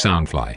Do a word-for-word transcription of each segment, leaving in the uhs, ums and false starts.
Soundfly。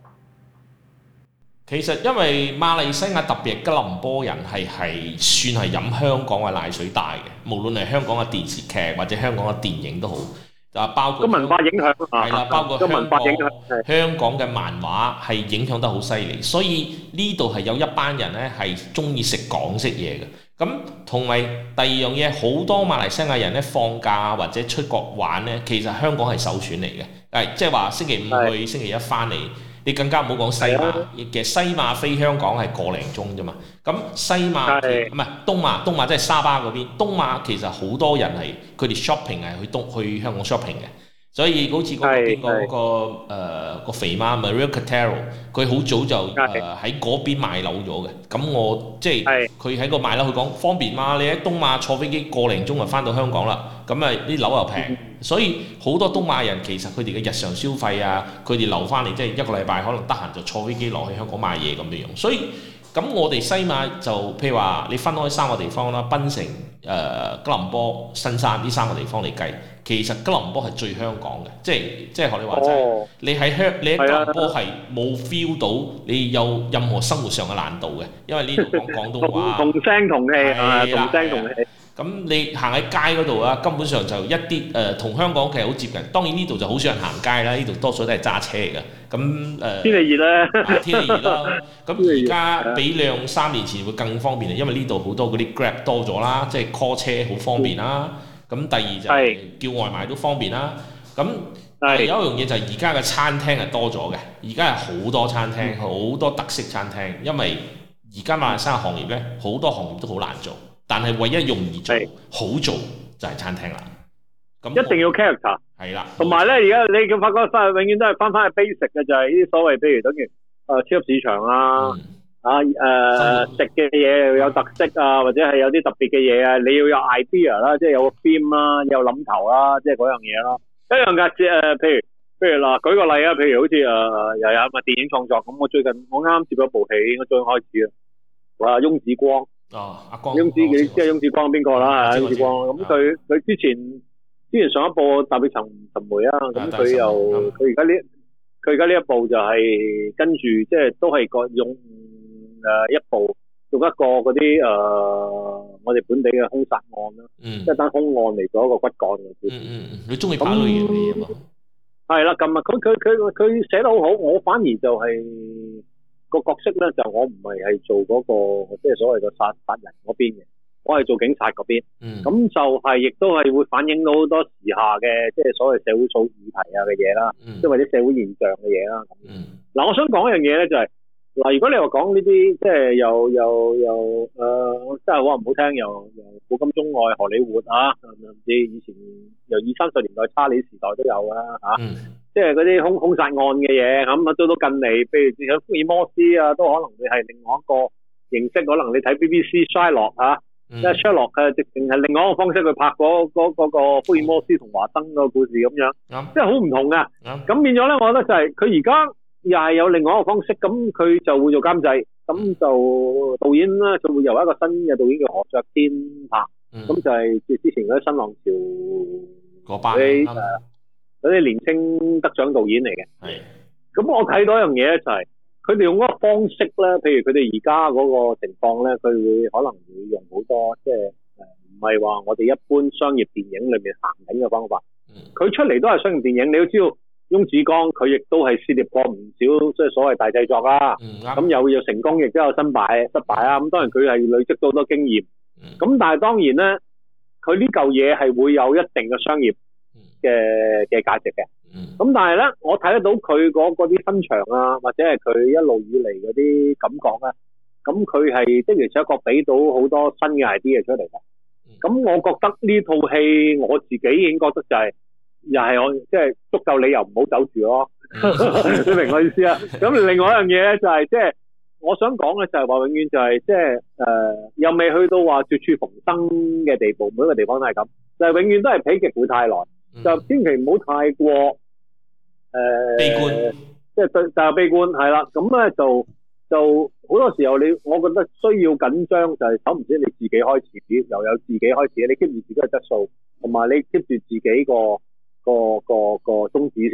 其實因為馬來西亞特別係吉隆坡人係係算係飲香港嘅奶水大嘅，無論係香港嘅電視劇或者香港嘅電影都好，就包括個文化影響係啦，包括香文化影響港香港嘅漫畫係影響得好犀利，所以呢度係有一班人咧係中意食港式嘢嘅。咁同埋第二樣嘢，好多馬來西亞人咧放假或者出國玩咧，其實香港係首選嚟嘅，係即係話星期五去，星期一翻嚟。你更加唔好講西馬，其實西馬飛香港係個零鐘啫嘛。咁西馬唔係東馬，東馬即係沙巴嗰邊。東馬其實好多人係佢哋 shopping 係去東去香港 shopping 嘅，所以好似嗰個邊個嗰個誒個肥媽 Maria Cotaro， 佢好早就誒喺嗰邊買樓咗嘅。咁我即係佢喺個買樓，佢講方便嘛。你喺東馬坐飛機個零鐘就翻到香港啦。咁啊啲樓又平。嗯，所以好多東馬人其實佢哋嘅日常消費啊，佢哋留翻嚟即係一個禮拜可能得閒就坐飛機落去香港買嘢咁樣樣。所以咁我哋西馬就譬如話你分開三個地方啦，檳城、誒、呃、吉隆坡、新山呢三個地方嚟計，其實吉隆坡係最香港嘅，即係即係學你話齋，哦，你喺香你喺吉隆坡係冇 feel 到你有任何生活上嘅難度嘅，因為呢度講廣東話， 同聲同氣啊，同聲同氣。 咁你行喺街嗰度啊，根本上就一啲誒同香港其實好接近。當然呢度就好少人行街啦，呢度多數都係揸車嚟嘅。咁誒、呃、天氣熱啦， 天氣熱啦。咁而家比兩三年前會更方便啊，因為呢度好多嗰啲 Grab 多咗啦，即係 call 車好方便啦。咁、嗯、第二就係叫外賣都方便啦。咁有一樣嘢就係而家嘅餐廳係多咗嘅，而家係好多餐廳，好、嗯、多特色餐廳。因為而家馬來西亞行業咧，好多行業都好難做。但係唯一容易做、好做就係餐廳啦。咁一定要 character 係啦。同埋咧，而家你咁發覺翻，永遠都係翻翻去 basic 嘅，就係呢啲所謂，譬如等於誒、呃、超級市場啊，嗯、啊誒、呃、食嘅嘢有特色啊，或者係有啲特別嘅嘢啊，你要有 idea 啦，即係有個 theme 啦，有諗頭啦，即係嗰樣嘢啦。一樣嘅，即係誒，譬如譬如嗱，舉個例啊，譬如好似誒、呃、又有咪電影創作咁，我最近我啱啱接咗部戲，應該最開始啊，哇，翁子光。 哦，阿光， 翁子你知係翁子光邊個啦？係翁子光，咁佢佢之前之前上一部《踏血尋尋梅》啊，咁佢又佢而家呢佢而家呢一部就係跟住即係都係個用誒一部用一個嗰啲誒我哋本地嘅兇殺案啦， 嗯， 即係單兇案嚟做一個骨幹嘅。 嗯嗯嗯，你中意拍類型嘅嘢嘛？ 係啦，咁啊，佢佢佢佢寫得好好，我反而就係、是。個角色咧就我唔係係做嗰、那個即係所謂嘅殺殺人嗰邊嘅，我係做警察嗰邊。嗯，咁就係亦都係會反映到好多時下嘅即係所謂社會訴議題啊嘅嘢啦，即係或者社會現象嘅嘢啦。嗯，嗱，我想講一樣嘢咧就係、是、嗱，如果你話講呢啲即係又又又誒，真係好唔好聽，又又古今中外荷里活啊，甚至以前由二三十年代查理時代都有啦嚇。嗯，即係嗰啲兇兇殺案嘅嘢，咁啊到到近嚟，譬如喺福爾摩斯啊，都可能會係另外一個形式。可能你睇 B B C Sherlock 嚇，即係 Sherlock 嘅直情係另外一個方式去拍嗰嗰嗰個福爾摩斯同華生個故事咁樣，即係好唔同噶。咁、嗯、變咗咧，我覺得就係佢而家又係有另外一個方式，咁佢就會做監製，咁就導演咧就會由一個新嘅導演叫何爵天拍，咁、嗯、就係之前嗰啲新浪潮嗰班嗰啲年青得獎導演嚟嘅，係。咁我睇到一樣嘢咧，就係佢哋用嗰個方式咧，譬如佢哋而家嗰個情況咧，佢會可能會用好多即係誒，唔係話我哋一般商業電影裏面行緊嘅方法。佢、嗯、出嚟都係商業電影，你要知道，翁子光佢亦都係涉獵過唔少即係所謂大製作啦。咁、嗯、有有成功，亦都有失敗失敗啊。咁當然佢係累積到好多經驗。咁、嗯、但係當然咧，佢呢嚿嘢係會有一定嘅商業嘅嘅價值嘅，咁、嗯、但係咧，我睇得到佢嗰嗰啲分場啊，或者係佢一路以嚟嗰啲感覺咧，咁佢係的而且確俾到好多新嘅 idea 出嚟嘅。咁、嗯、我覺得呢套戲我自己已經覺得就係、是，又係我即係足夠理由唔好走住咯。嗯、你明我意思啊？咁另外一樣嘢咧就係、是，即係我想講嘅就係話，永遠就係即係誒，又未去到話絕處逢生嘅地步，每一個地方都係咁，就係、是、永遠都係否極會太耐。就千祈唔好太過誒、呃、悲觀，即係對就係悲觀係啦。咁咧就就好多時候你，我覺得需要緊張就係首唔知你自己開始，又有自己開始，你 keep 住自己嘅質素，同埋你 keep 住自己個個個個宗旨先。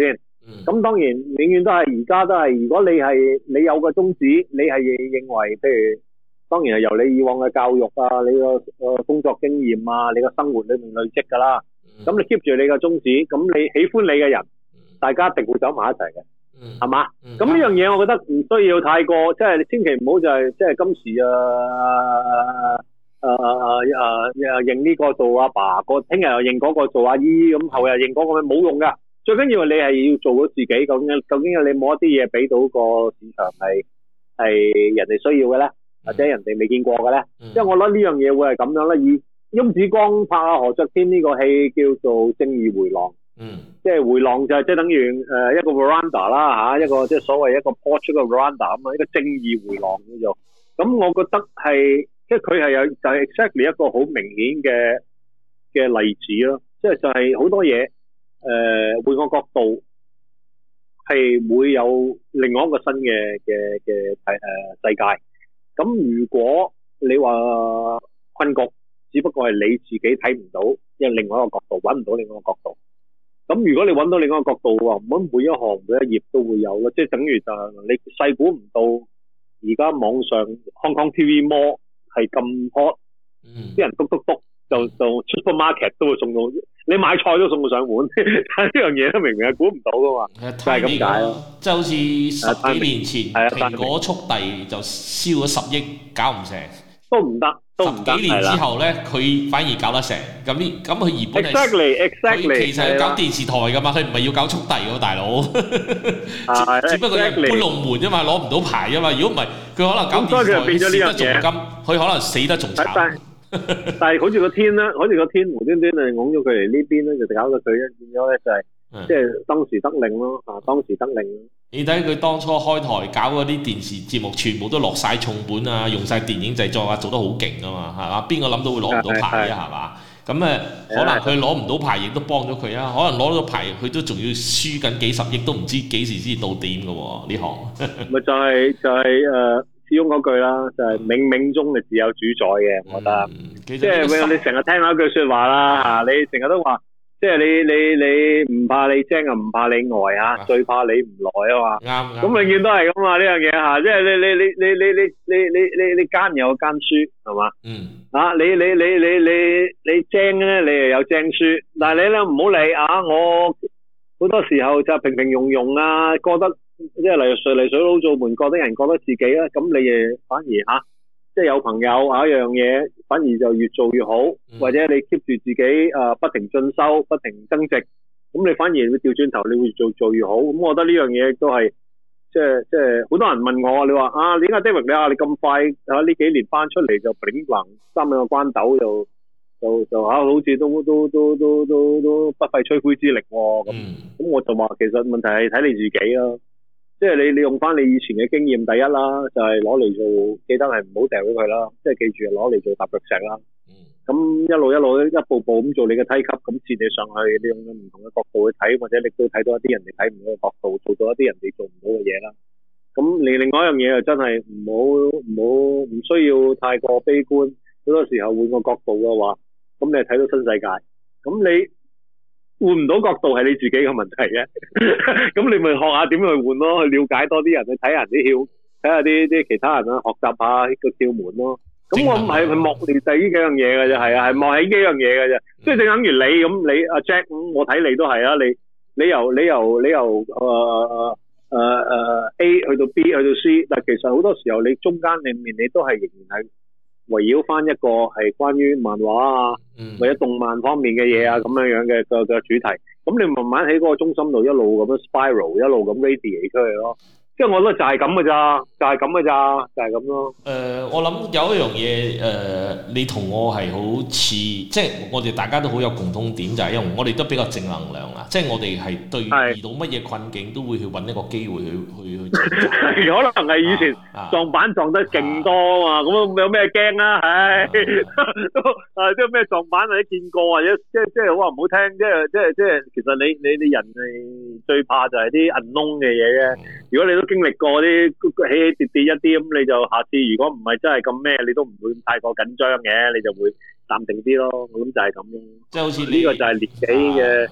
咁、嗯、當然永遠都係而家都係，如果你係你有個宗旨，你係認為譬如當然係由你以往嘅教育啊，你個工作經驗啊，你個生活裏面累積㗎啦。咁、嗯、你 keep 住你嘅宗旨，咁你喜歡你嘅人，大家一定會走埋一齊嘅，係嘛？咁呢樣嘢我覺得唔需要太過，即係你千祈唔好就係即係今時啊啊啊啊啊認呢個做阿爸，個聽日又認嗰個做阿姨，咁後日認嗰個冇用㗎。最緊要你係要做到自己，究竟究竟你冇一啲嘢俾到個市場係係人哋需要嘅咧，或者人哋未見過嘅咧？因為我覺得呢樣嘢會係咁樣啦。以翁子光拍阿何爵天呢個戲叫做《正義迴廊》，嗯，即係迴廊就係即係等於誒一個 veranda 啦嚇，一個即係所謂一個 porch 嘅 veranda 咁啊，一個正義迴廊叫做。咁我覺得係即係佢係有就係 exactly 一個好明顯嘅嘅例子咯，即係就係好多嘢。誒、呃、換個角度係會有另外一個新嘅嘅嘅誒世界。咁如果你話困局，只不過係你自己睇唔到，因為另外一個角度揾唔到另外一個角度。咁如果你揾到另外一個角度喎，咁每一行每一頁都會有咯。即係等於就係你細估唔到，而家網上 Hong Kong T V Mall 係咁 hot，啲人篤篤篤就就 supermarket 都會送到。你買菜都送到上門，但係呢樣嘢都明明係估唔到噶嘛，就係咁解咯。 即係好似十幾年前蘋果速遞就燒咗十億，搞唔成， 都唔得，都唔得。 十幾年之後咧，佢反而搞得成。咁呢，咁佢原本係 exactly exactly， 佢其實係搞電視台噶嘛，佢唔係要搞速遞喎，大佬。只不過係搬龍門啫嘛，攞唔到牌啫嘛。如果唔係，佢可能搞電視台蝕得仲金，佢可能死得仲慘。 但係好似個天咧，好似個天無端端就拱咗佢嚟呢邊咧，就搞到佢咧變咗咧就係、是，即係、嗯、當時得令咯，啊當時得令。你睇佢當初開台搞嗰啲電視節目，全部都落晒重本啊，用晒電影製作啊，做得好勁啊嘛，係嘛？邊個諗到會攞唔到牌啊？係嘛？咁誒，可能佢攞唔到牌，亦都幫咗佢啊。可能攞到牌，佢都仲要輸緊幾十億，都唔知幾時先到點嘅喎呢行。咪就係、是、就係、是、誒。呃始終嗰句啦，就係冥冥中係自有主宰嘅，我覺得。即係你成日聽到一句説話啦嚇，你成日都話，即係你你你唔怕你精啊，唔怕你呆啊，最怕你唔來啊嘛。啱。咁永遠都係咁啊呢樣嘢嚇，即係你你你你你你你你你你奸有奸輸係嘛？嗯。啊，你你你你你你精咧，你又有精輸，但係你咧唔好理啊！我好多時候就平平庸庸啊，覺得。即係例如水泥水佬做門，覺得人覺得自己咧，咁你誒反而嚇、啊，即係有朋友啊一樣嘢，反而就越做越好，嗯、或者你 keep 住自己誒、呃、不停進修、不停增值，咁你反而會調轉頭，你會做做越好。咁我覺得呢樣嘢都係即係即係好多人問我，你話啊，點解 David 你啊你咁快啊呢幾年翻出嚟就炳橫三兩個關斗就就就嚇、啊、好似都都都都都都不費吹灰之力喎咁。咁、嗯、我就話其實問題係睇你自己咯。即係你你用翻你以前嘅經驗，第一啦，就係攞嚟做，記得係唔好掉咗佢啦。即係記住攞嚟做踏腳石啦。咁、嗯、一路一路一步步咁做你嘅梯級，咁接你上去，你用唔同嘅角度去睇，或者你都睇到一啲人哋睇唔到嘅角度，做到一啲人哋做唔到嘅嘢啦。咁你另外一樣嘢就真係唔好唔好唔需要太過悲觀。好多時候換個角度嘅話，咁你係睇到新世界。咁你換唔到角度係你自己嘅問題嘅，咁你咪學下點去換咯，去了解多啲人，去睇下人啲竅，睇下啲啲其他人啦，學習下呢個竅門咯。咁我唔係去莫你第呢幾樣嘢嘅啫，係啊，係莫起幾樣嘢嘅啫。即係正等於你咁，你阿 Jack 咁，我睇你都係啊，你你由你由你由誒誒誒誒 A 去到 B 去到 C， 但係其實好多時候你中間裡面你都係仍然係圍繞翻一個係關於漫畫啊，嗯、或者動漫方面嘅嘢啊咁樣樣嘅嘅嘅主題，咁你慢慢喺嗰個中心度一路咁樣 spiral， 一路咁 radiate 出去咯。即係我覺得就係咁嘅咋，就係咁嘅咋，就係咁咯。誒、 呃，我諗有一樣嘢誒，你同我係好似，即係我哋大家都好有共通點，就係因為我哋都比較正能量啦。即係我哋係對遇到乜嘢困境都會去揾一個機會去去去。 可能係以前撞板撞得勁多啊嘛，咁、啊、有咩驚啊？唉，都啊即係咩撞板或者見過或者即係即係好話唔好聽，即係即係即係其實你你你人係最怕就係啲 unknown 嘅嘢嘅。如果你都經歷過啲起起跌跌一啲，咁你就下次如果唔係真係咁咩，你都唔會太過緊張嘅，你就會淡定啲咯。咁就係咁咯。即係好似呢個就係年紀嘅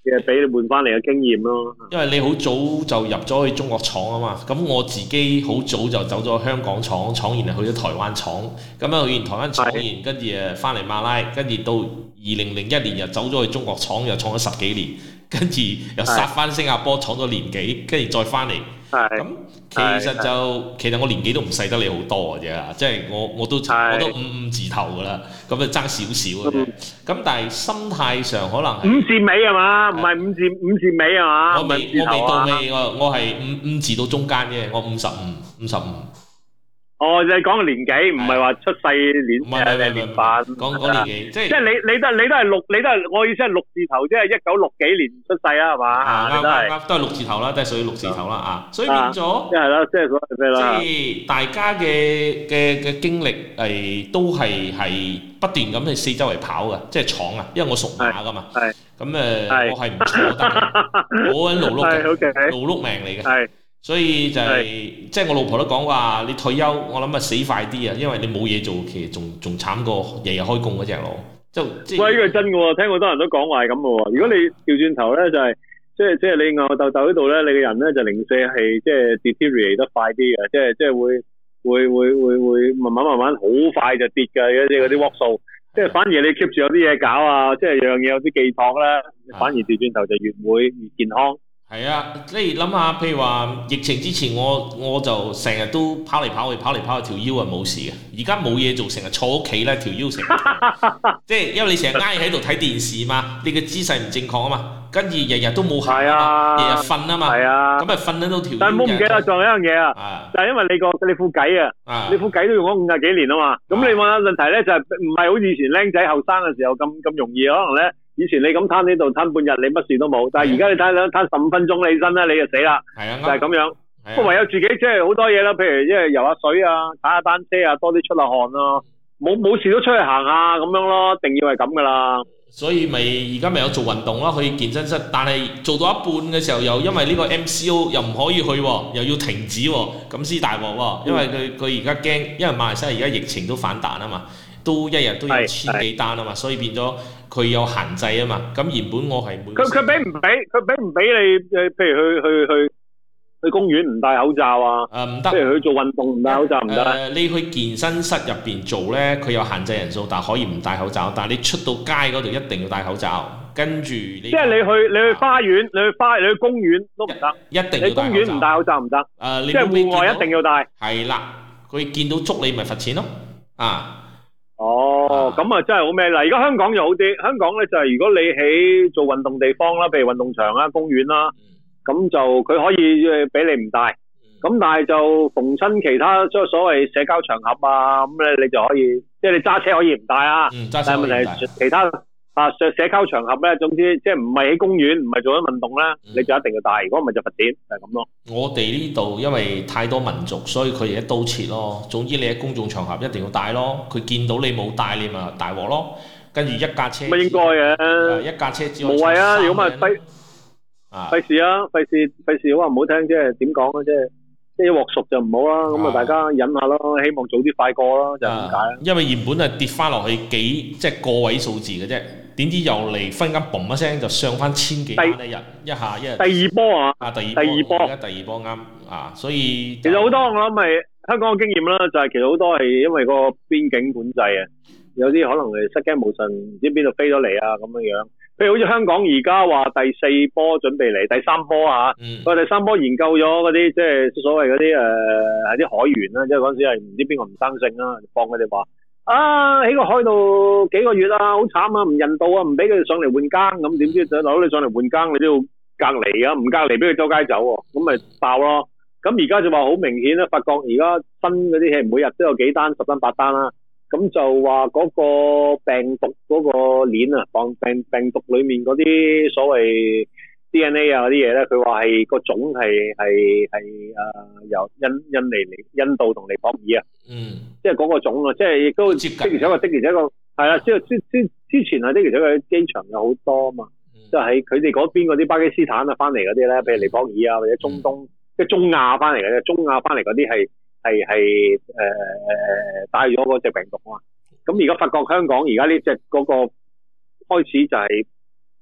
嘅俾你換翻嚟嘅經驗咯。 因為你好早就入咗去中國廠啊嘛，咁我自己好早就走咗香港廠，廠完就去咗台灣廠，咁樣去完台灣廠完，跟住誒翻嚟馬拉，跟住到二零零一年又走咗去中國廠，又廠咗十幾年，跟住又殺翻新加坡廠咗年幾，跟住再翻嚟。咁其實就其實我年紀都唔細得你好多嘅啫，即係我我都我都五五字頭噶啦，咁啊爭少少嘅啫。咁、嗯、但係心態上可能五字尾係嘛？唔係五字五字尾係嘛？ 我未我未到尾，我我係五五字到中間嘅，我五十五五十五。 哦，你講個年紀，唔係話出世年誒年份， 講講年紀，即係即係你你都你都係六，你都係我意思係六字頭，即係一九六幾年出世啊，係嘛？ 啱啱啱，都係六字頭啦，都係屬於六字頭啦啊，所以變咗， 即係啦，即係所謂咩啦？ 即係大家嘅嘅嘅經歷係都係係不斷咁去四周圍跑嘅，即係闖啊，因為我屬馬噶嘛，咁誒我係唔錯得嘅，好撚勞碌嘅，勞碌命嚟嘅。所以就係、是、即係我老婆都講話，你退休我諗啊死快啲啊，因為你冇嘢做，其實仲仲慘過日日開工嗰隻咯。就即係喂，呢個係真嘅喎，聽好多人都講話係咁嘅喎。如果你調轉頭咧，就係、是、即係即係你吽哣哣喺度咧，你嘅人咧就零舍係即係 deteriorate 得快啲嘅，即係即係會會會會會慢慢慢慢好快就跌嘅嗰啲嗰啲 work 數。即係反而你 keep 住有啲嘢搞啊，即係樣嘢有啲寄託咧，反而調轉頭就越會越健康。係啊，即係諗下，譬如話疫情之前我，我我就成日都跑嚟跑去，跑嚟跑去，條腰係冇事嘅。而家冇嘢做，成日坐屋企咧，條腰成日即係因為你成日挨喺度睇電視嘛，你嘅姿勢唔正確啊嘛，跟住日日都冇行啊，日日瞓啊嘛，咁咪瞓得到條腰。但係唔好唔記得，仲有一樣嘢啊，就係因為你個你副計啊，你副計都用咗五廿幾年啊嘛，咁你問下問題咧就係唔係好似以前僆仔後生嘅時候咁咁容易，可能咧。以前你咁攤喺度攤半日，你乜事都冇。但係而家你攤兩攤十五分鐘，你起身咧，你就死啦。係啊，就係咁樣。不過唯有自己即係好多嘢啦，譬如即係游下水啊，踩下單車啊，多啲出下汗啊。冇冇事都出去行下咁樣咯，一定要係咁噶啦。所以咪而家咪有做運動咯，去健身室。但係做到一半嘅時候，又因為呢個 M C O 又唔可以去喎，又要停止喎，咁先大鑊喎。因為佢佢而家驚，因為馬來西亞而家疫情都反彈啊嘛。都一日都有千幾單啊嘛，所以變咗佢有限制啊嘛。咁原本我係每佢佢俾唔俾佢俾唔俾你誒？譬如去去去去公園唔戴口罩啊？誒唔得。譬如去做運動唔戴口罩唔得。誒你去健身室入邊做咧，佢有限制人數，但係可以唔戴口罩。但係你出到街嗰度一定要戴口罩。跟住你即係你去你去花園，你去花你去公園都唔得，一定要戴口罩。你公園唔戴口罩唔得。誒，即係戶外一定要戴。係啦，佢見到捉你咪罰錢咯。啊！哦，咁啊真係好咩啦！而家香港就好啲，香港咧就係如果你喺做運動地方啦，譬如運動場啦、公園啦，咁就佢可以誒俾你唔戴，咁但係就逢親其他即係所謂社交場合啊，咁咧你就可以，即係你揸車可以唔戴啊，但係問題係其他啊社社交場合咧，總之即係唔係喺公園，唔係做緊運動咧，你就一定要戴，如果唔係就罰錢，就係咁咯。我哋呢度因為太多民族，所以佢哋一刀切咯。總之你喺公眾場合一定要戴咯，佢見到你冇戴，你咪大鑊咯。跟住一架車，咪應該嘅，一架車只可以無謂啊！如果咪費啊，費事啊，費事費事，好話唔好聽，即係點講啊，即係即係一鑊熟就唔好啦。咁啊，大家忍下咯，希望早啲快過咯，就係咁解。因為原本係跌翻落去幾即係個位數字嘅啫。點知又嚟分間嘣一聲就上翻千幾蚊一日，一下一日。第二波啊！啊，第二波，第二波，而家第二波啱啊！所以其實好多我諗係香港嘅經驗啦，就係其實好多係因為個邊境管制啊，有啲可能係失驚無神，唔知邊度飛咗嚟啊咁樣樣。譬如好似香港而家話第四波準備嚟，第三波啊，佢、嗯、第三波研究咗嗰啲即係所謂嗰啲誒係啲海員啦，即係嗰陣時係唔知邊個唔生性啦，放佢哋話。啊！喺個海度幾個月啊，好慘啊，唔人道啊，唔俾佢哋上嚟換更，咁點知就攞你上嚟換更，你都要隔離啊，唔隔離俾佢周街走喎，咁咪爆咯。咁而家就話好明顯啦，發覺而家新嗰啲戲每日都有幾單十單八單啦，咁就話嗰個病毒嗰個鏈啊，病病病毒裡面嗰啲所謂 D N A 啊嗰啲嘢咧，佢話係個種係係係誒由印印尼嚟印度同尼泊爾啊，嗯，即係嗰個種啊，即係亦都接近，的而且確的而且確係啦，即係之之之前係的而且確機場有好多啊嘛，即係喺佢哋嗰邊嗰啲巴基斯坦啊翻嚟嗰啲咧，譬如尼泊爾啊或者中東、嗯、即係中亞翻嚟嘅，中亞翻嚟嗰啲係係係誒誒帶咗嗰隻病毒啊嘛，咁而家發覺香港而家呢隻嗰個開始就係、是。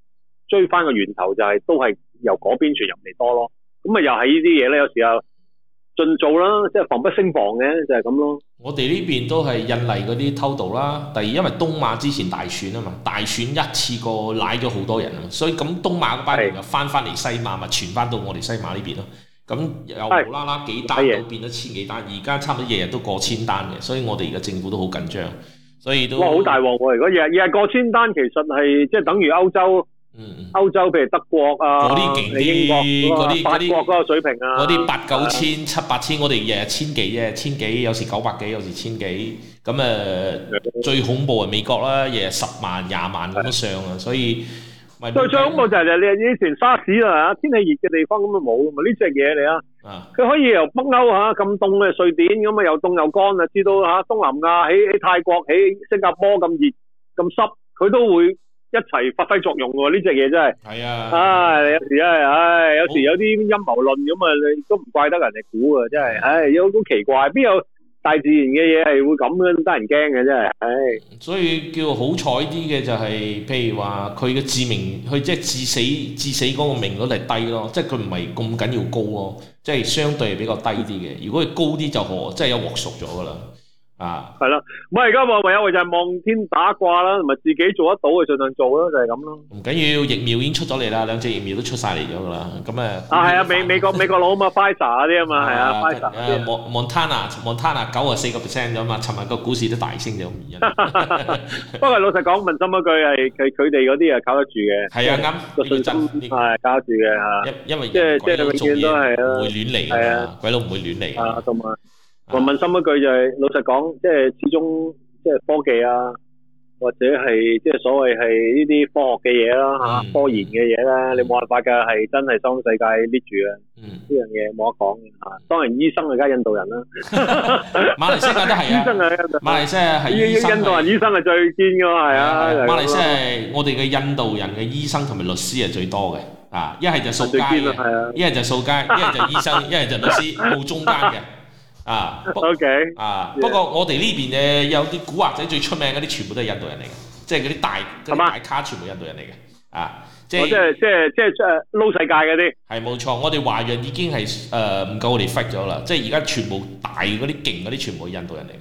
追翻個源頭，就係都係由嗰邊傳入嚟多咯。咁啊又係呢啲嘢咧，有時候盡做啦，即係防不勝防嘅，就係咁咯。 我哋呢邊都係印尼嗰啲偷渡啦。第二，因為東馬之前大選啊嘛，大選一次過拉咗好多人啊嘛，所以咁東馬嗰班人又翻翻嚟西馬，咪傳翻到我哋西馬呢邊咯。咁又無啦啦幾單都變咗千幾單，而家差唔多日日都過千單嘅，所以我哋而家政府都好緊張，所以都哇好大鑊喎！如果日日過千單，其實係即係等於歐洲。嗯，歐洲譬如德國啊， 嗰啲勁啲，嗰啲法國嗰個水平啊， 嗰啲八九千、七八千，我哋日日千幾啫，千幾有時九百幾，有時千幾。咁誒、呃、最恐怖係美國啦，日日十萬、廿萬咁樣上啊，所以最最恐怖就係你以前沙士啊，天氣熱嘅地方咁啊冇，咪呢隻嘢嚟啊！佢可以由北歐嚇咁凍嘅瑞典咁啊又凍又乾啊，至到嚇東南亞喺喺泰國喺新加坡咁熱咁濕，佢都會一齊發揮作用喎！呢隻嘢真係係啊！ 唉，有時咧，唉，有時有啲陰謀論咁啊，你都唔怪得人哋估啊！真係，唉，有好奇怪，邊有大自然嘅嘢係會咁樣得人驚嘅真係，唉！ 所以叫好彩啲嘅就係，譬如話佢嘅致命，佢即係致死致死嗰個命率係低咯，即係佢唔係咁緊要高咯，即係相對係比較低啲嘅。如果佢高啲就可，即係有鑊熟咗噶啦。啊，係啦，唔係而家唯有就係望天打卦啦，同埋自己做得到就盡量做啦，就係咁咯。唔緊要，疫苗已經出咗嚟啦，兩隻疫苗都出晒嚟咗噶啦，咁誒。啊係啊，美美國美國佬啊嘛 ，Pfizer 嗰啲啊嘛，係啊 ，Pfizer。誒，Montana Montana 九啊四個 percent 咗嘛，尋日個股市都大升咗原因。不過老實講，問心一句係佢佢哋嗰啲係靠得住嘅。係啊，啱。個信心係靠得住嘅嚇。因因為即係即係永遠都係啊，唔會亂嚟㗎嘛，鬼佬唔會亂嚟。啊，同埋。我問心一句就係、是，老實講，即係始終即係科技啊，或者係即係所謂係呢啲科學嘅嘢啦嚇，科研嘅嘢啦，你冇辦法㗎，係真係當世界捏住啊！呢樣嘢冇得講嘅嚇。當然醫生係梗係印度人啦，馬來西亞都係啊，醫生係馬來西亞係醫生，印度人醫生係最堅㗎嘛，係啊。馬來西亞係我哋嘅印度人嘅醫生同埋律師係最多嘅啊，一係就掃街嘅，一係就掃街，一係就醫生，一係就律師，冇中間嘅。啊 ，OK，啊， yeah. 不過我哋呢邊嘅有啲古惑仔最出名嗰啲，全部都係印度人嚟嘅，即係嗰啲大嗰啲大咖全部印度人嚟嘅，啊，即係即係即係即係誒撈世界嗰啲，係冇錯，我哋華人已經係誒唔夠我哋 fit 咗啦，即係而家全部大嗰啲勁嗰啲全部係印度人嚟嘅，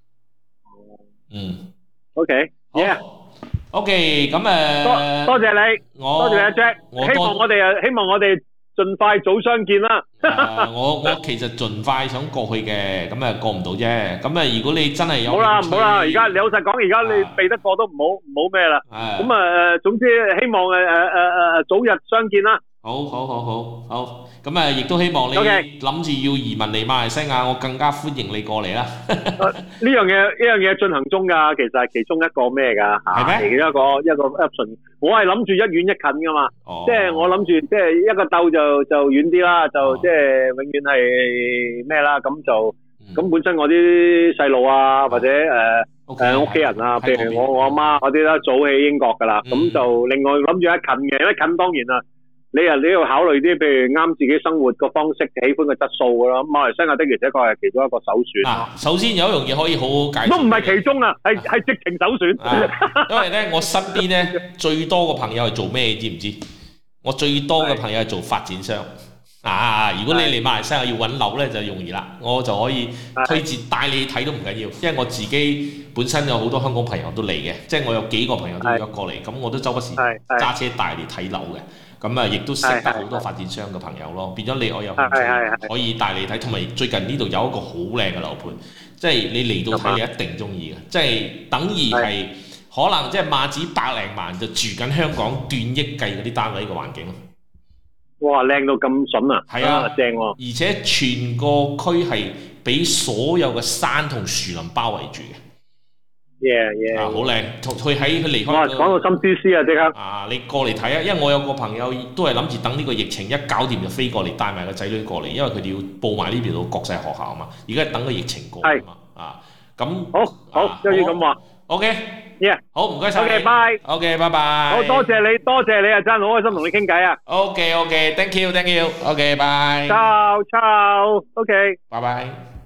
嗯 ，OK，yeah，OK， 咁誒，多多謝你，我多謝你阿 Jack，希望我哋啊，希望我哋。盡快早相見啦、啊！我我其實盡快想過去嘅，咁誒過唔到啫。咁誒，如果你真係有，好啦唔好啦，而家你老實講，而家你避得過都唔好唔好咩啦。咁誒，總之希望誒誒誒誒早日相見啦。好好好好好，咁誒亦都希望你諗住要移民嚟馬來西亞，我更加歡迎你過嚟啦。呢樣嘢呢樣嘢進行中㗎，其實係其中一個咩㗎嚇？係咩？一個一個 option。我係諗住一遠一近噶嘛，哦、即係我諗住即係一個竇就就遠啲啦，就即係永遠係咩啦，咁就咁、嗯、本身我啲細路啊，或者誒誒屋企人啊，譬如我我阿媽嗰啲啦，早喺英國噶啦，咁、嗯、就另外諗住一近嘅，一近當然啦，你啊你要考慮啲譬如啱自己生活個方式、喜歡嘅質素噶啦，馬來西亞的而且確係其中一個首選。啊，首先有一樣嘢可以好好介紹，都唔係其中啊，係係直情首選。啊、因為咧，我身邊咧最多嘅朋友係做咩，知唔知？我最多嘅朋友係做發展商。啊，如果你嚟馬來西亞要揾樓咧，就容易啦，我就可以推薦帶你睇都唔緊要，因為我自己本身有好多香港朋友都嚟嘅，即係我有幾個朋友都約過嚟，咁我都周不時揸車帶你睇樓嘅。咁啊，亦都識得好多發展商嘅朋友咯，變咗你我有興趣可以帶你睇，同埋最近呢度有一個好靚嘅樓盤，即係你嚟到睇你一定中意嘅，即係等於係可能即係碼子百零萬就住緊香港斷億計嗰啲單位嘅環境咯。哇，靚到咁筍啊！係啊，正喎！而且全個區係俾所有嘅山同樹林包圍住嘅。Yeah, yeah. 啊，好靚！佢喺佢離開。哇，講到心思思啊，即刻！啊，你過嚟睇啊，因為我有個朋友都係諗住等呢個疫情一搞掂就飛過嚟，帶埋個仔女過嚟，因為佢哋要報埋呢邊度國際學校啊嘛。而家等個疫情過啊嘛。啊，咁好，好，一於咁話。OK，yeah， 好，唔該晒。OK，bye。OK，拜拜。好多謝你，多謝你啊，真係好開心同你傾偈啊。OK，OK，thank you，thank you。OK，bye。Ciao，ciao。OK，拜拜。